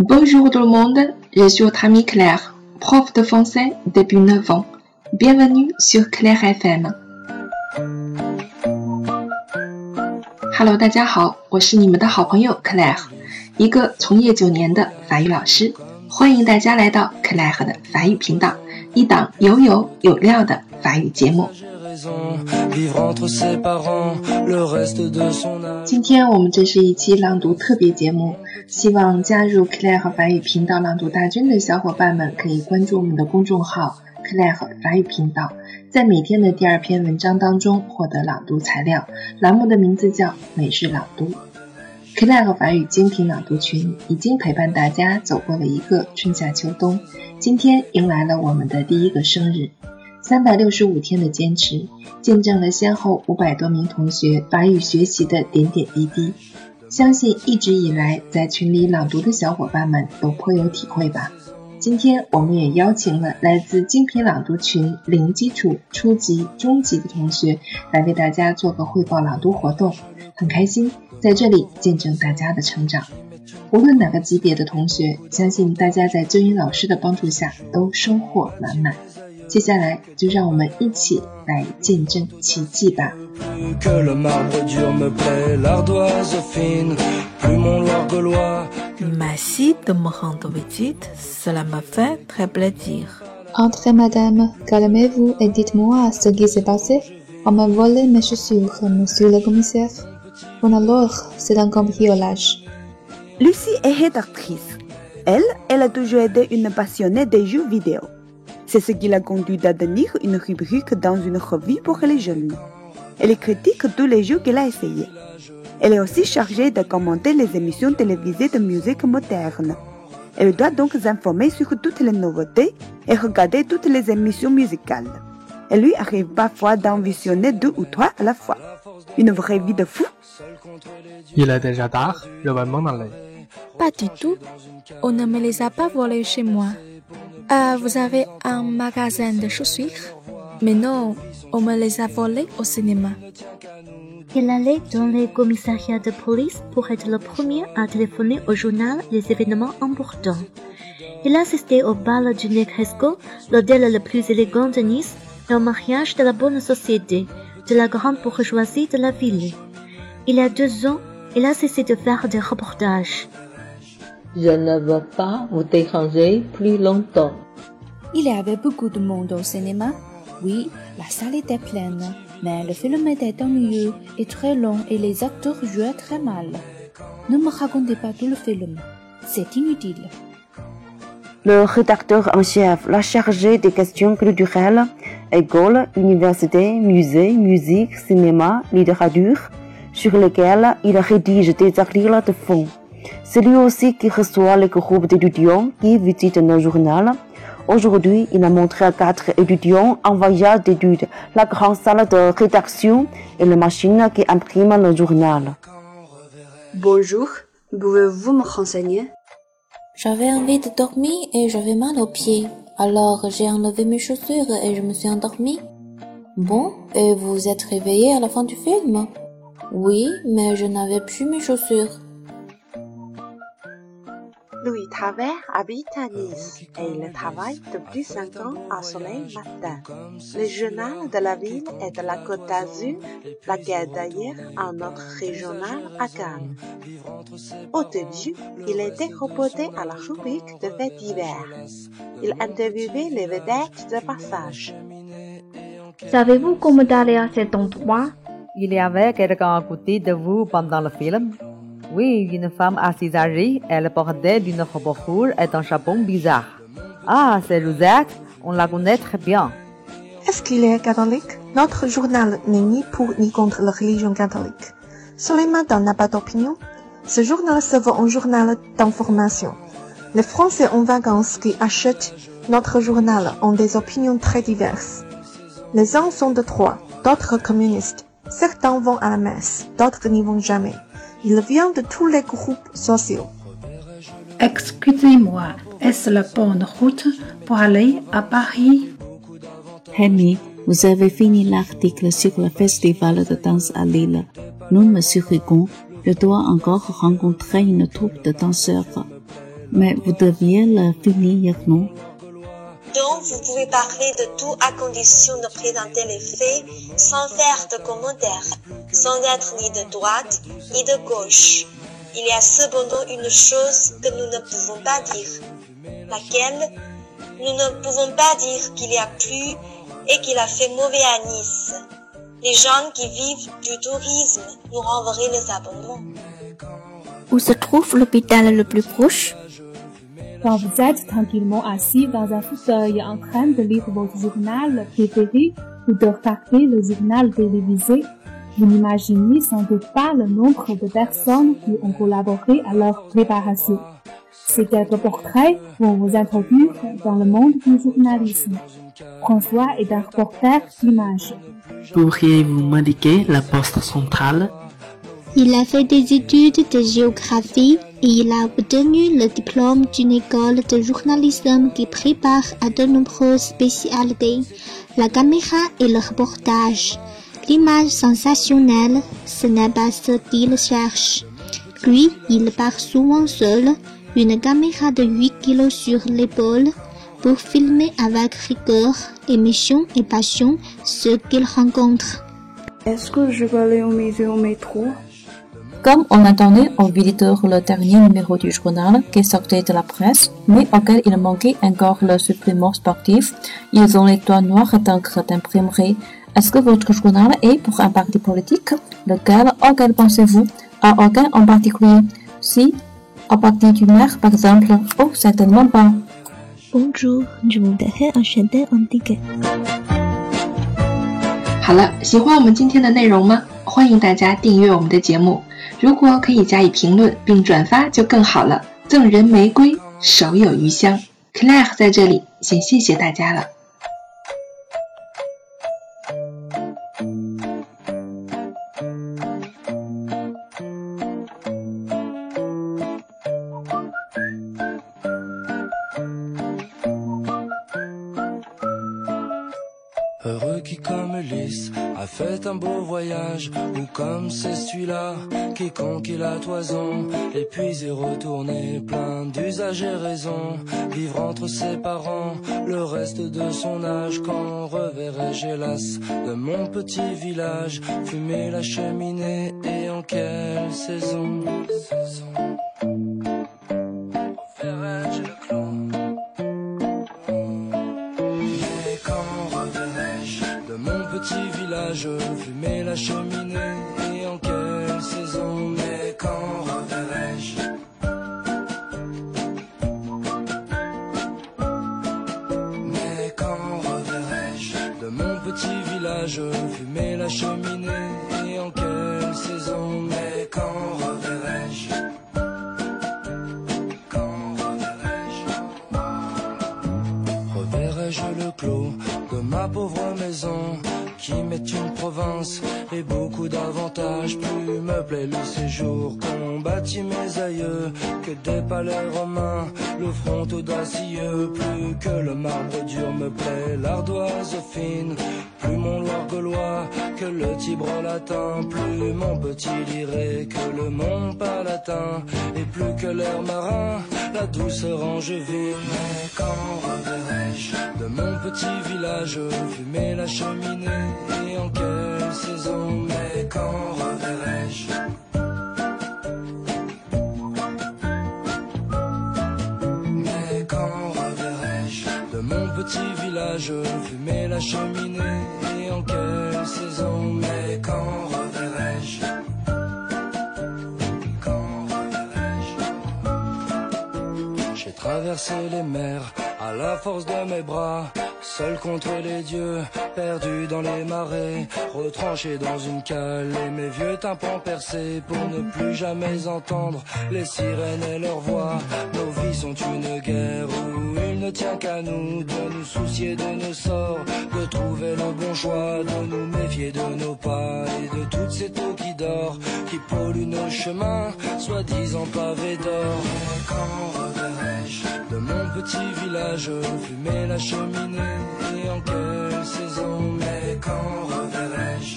Bonjour tout le monde, je suis votre ami Claire, prof de français depuis 9 ans. Bienvenue sur Claire FM. Hello， 大家好，我是你们的好朋友 Claire， 一个从业9年的法语老师。欢迎大家来到 Claire 的法语频道，一档有料的法语节目。今天我们这是一期朗读特别节目，希望加入 Claire 法语频道朗读大军的小伙伴们可以关注我们的公众号 Claire 法语频道，在每天的第2篇文章当中获得朗读材料，栏目的名字叫每日朗读。Claire 法语精品朗读群已经陪伴大家走过了一个春夏秋冬，今天迎来了我们的第1个生日。365天的坚持，见证了先后500多名同学法语学习的点点滴滴。相信一直以来在群里朗读的小伙伴们都颇有体会吧。今天我们也邀请了来自精品朗读群零基础、初级、中级的同学来为大家做个汇报朗读活动，很开心在这里见证大家的成长。无论哪个级别的同学，相信大家在周英老师的帮助下都收获满满。接下来就让我们一起来见证奇迹吧。 Merci de me rendre visite, cela me fait très plaisir. Entrez, madame, calmez-vous et dites-moi ce qui s'est passé. On m'a volé mes chaussures, monsieur le commissaire. Bon alors, c'est un cambriolage. Lucie est rédactrice. Elle a toujours été une passionnée des jeux vidéo. C'est ce qui l'a conduite à tenir une rubrique dans une revue pour les jeunes. Elle critique tous les jeux qu'elle a essayés. Elle est aussi chargée de commenter les émissions télévisées de musique moderne. Elle doit donc s'informer sur toutes les nouveautés et regarder toutes les émissions musicales. Elle lui arrive parfois d'en visionner 2 ou 3 à la fois. Une vraie vie de fou. Il est déjà tard, je vais m'en aller. Pas du tout, on ne me les a pas volés chez moi. Vous avez un magasin de chaussures? Mais non, on me les a volés au cinéma. Il allait dans les commissariats de police pour être le premier à téléphoner au journal des événements importants. Il assistait au bal du Negresco, l'hôtel le plus élégant de Nice, et au mariage de la bonne société, de la grande bourgeoisie de la ville. Il y a 2 ans, il a cessé de faire des reportages. Je ne veux pas vous déranger plus longtemps. Il y avait beaucoup de monde au cinéma. Oui, la salle était pleine, mais le film était ennuyeux et très long et les acteurs jouaient très mal. Ne me racontez pas tout le film, c'est inutile. Le rédacteur en chef l'a chargé des questions culturelles, écoles, universités, musées, musique, cinéma, littérature, sur lesquelles il rédige des articles de fond. C'est lui aussi qui reçoit les groupes d'étudiants qui visitent nos journaux. Aujourd'hui, il a montré à 4 étudiants en voyage d'études la grande salle de rédaction et la machine qui imprime le journal. Bonjour, pouvez-vous me renseigner? J'avais envie de dormir et j'avais mal aux pieds. Alors j'ai enlevé mes chaussures et je me suis endormie. Bon, et vous êtes réveillé à la fin du film? Oui, mais je n'avais plus mes chaussures. Louis Travers habite à Nice et il travaille depuis 5 ans à Soleil Matin. Le journal de la ville et de la Côte d'Azur, la guerre d'ailleurs un autre régional à Cannes. Au début, il était reporté à la rubrique de faits divers. Il interviewait les vedettes de passage. Savez-vous comment aller à cet endroit? Il y avait quelqu'un à côté de vous pendant le film? Oui, une femme assise âgée, elle portait d'une robe rouge et un chapeau bizarre. Ah, c'est Rosette, on la connaît très bien. Est-ce qu'il est catholique? Notre journal n'est ni pour ni contre la religion catholique. Soleil Matin n'a pas d'opinion. Ce journal se veut un journal d'information. Les Français en vacances qui achètent notre journal ont des opinions très diverses. Les uns sont de droite, d'autres communistes. Certains vont à la messe, d'autres n'y vont jamais. Il vient de tous les groupes sociaux. Excusez-moi, est-ce la bonne route pour aller à Paris? Henry, vous avez fini l'article sur le festival de danse à Lille. Nous, monsieur Rigon, je dois encore rencontrer une troupe de danseurs. mais vous deviez le finir, non? Donc, vous pouvez parler de tout à condition de présenter les faits sans faire de commentaires, sans être ni de droite ni de gauche. Il y a cependant une chose que nous ne pouvons pas dire, laquelle nous ne pouvons pas dire qu'il y a plu et qu'il a fait mauvais à Nice. Les gens qui vivent du tourisme nous renverraient les abonnements. Où se trouve l'hôpital le plus proche? Quand vous êtes tranquillement assis dans un fauteuil en train de lire votre journal préféré ou de regarder le journal télévisé, vous n'imaginez sans doute pas le nombre de personnes qui ont collaboré à leur préparation. Ces quelques portraits vont vous introduire dans le monde du journalisme. François est un reporter d'image. Pourriez-vous m'indiquer la poste centrale? Il a fait des études de géographie et il a obtenu le diplôme d'une école de journalisme qui prépare à de nombreuses spécialités, la caméra et le reportage. L'image sensationnelle, ce n'est pas ce qu'il cherche. Lui, il part souvent seul, une caméra de 8 kilos sur l'épaule, pour filmer avec rigueur, émotion et passion ce qu'il rencontre. Est-ce que je peux aller au musée au métro? Comme on attendait en visiteur le dernier numéro du journal qui sortait de la presse, mais auquel il manquait encore le supplément sportif, ils ont les doigts noirs d'encre d'imprimerie. Est-ce que votre journal est pour un parti politique? Auquel pensez-vous? À aucun en particulier? Si, au parti du maire par exemple? Oh, certainement pas. Bonjour, je voudrais acheter un ticket. 好了，喜欢我们今天的内容吗？欢迎大家订阅我们的节目，如果可以加以评论并转发就更好了。赠人玫瑰，手有余香。Claire 在这里先谢谢大家了。 Heureux qui comme Ulysse a fait un beau voyage, ou comme c'est celui-là qui conquit la toison, et puis est retourné plein d'usage et raison, vivre entre ses parents le reste de son âge. Quand reverrai-je hélas de mon petit village, fumer la cheminée, et en quelle saison? Reverrai-je le clos? Petit village, fumer la cheminée, et en quelle saison? Mais quand reverrai-je? Mais quand reverrai-je de mon petit village, fumer la cheminée, et en quelle saison? Mais quand reverrai-je? Quand reverrai-je? Reverrai-je le clos de ma pauvre maison, qui m'est une province et beaucoup d'avantages? Plus me plaît le séjour qu'ont bâti mes aïeux que des palais romains, le front audacieux. Plus que le marbre dur me plaît l'ardoise fine, plus mon Loir gaulois que le Tibre latin, plus mon petit Liré que le Mont Palatin, et plus que l'air marin, la douceur angevine. Mais quand reverrai-je de mon petit village, fumer la cheminée, et en quelle saison? Mais quand reverrai-je? Mais quand reverrai-je de mon petit village, fumer la cheminée, et en quelle saison? Mais quand reverrai-je? Quand reverrai-je? J'ai traversé les mers à la force de mes bras, seul contre les dieux, perdu dans les marais, retranché dans une cale, et mes vieux tympans percés pour ne plus jamais entendre les sirènes et leurs voix. Nos vies sont une guerre où il ne tient qu'à nous de nous soucier de nos sorts, de trouver le bon choix, de nous méfier de nos pas et de toutes ces eaux qui dorent, qui polluent nos chemins, soi-disant pavés d'or. Mais quand reverrai-je de mon petit village, fumer la cheminée, et en quelle saison? Mais quand reverrai-je?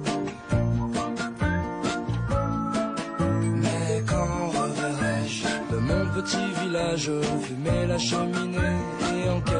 Mais quand reverrai-je de je fumais la cheminée et en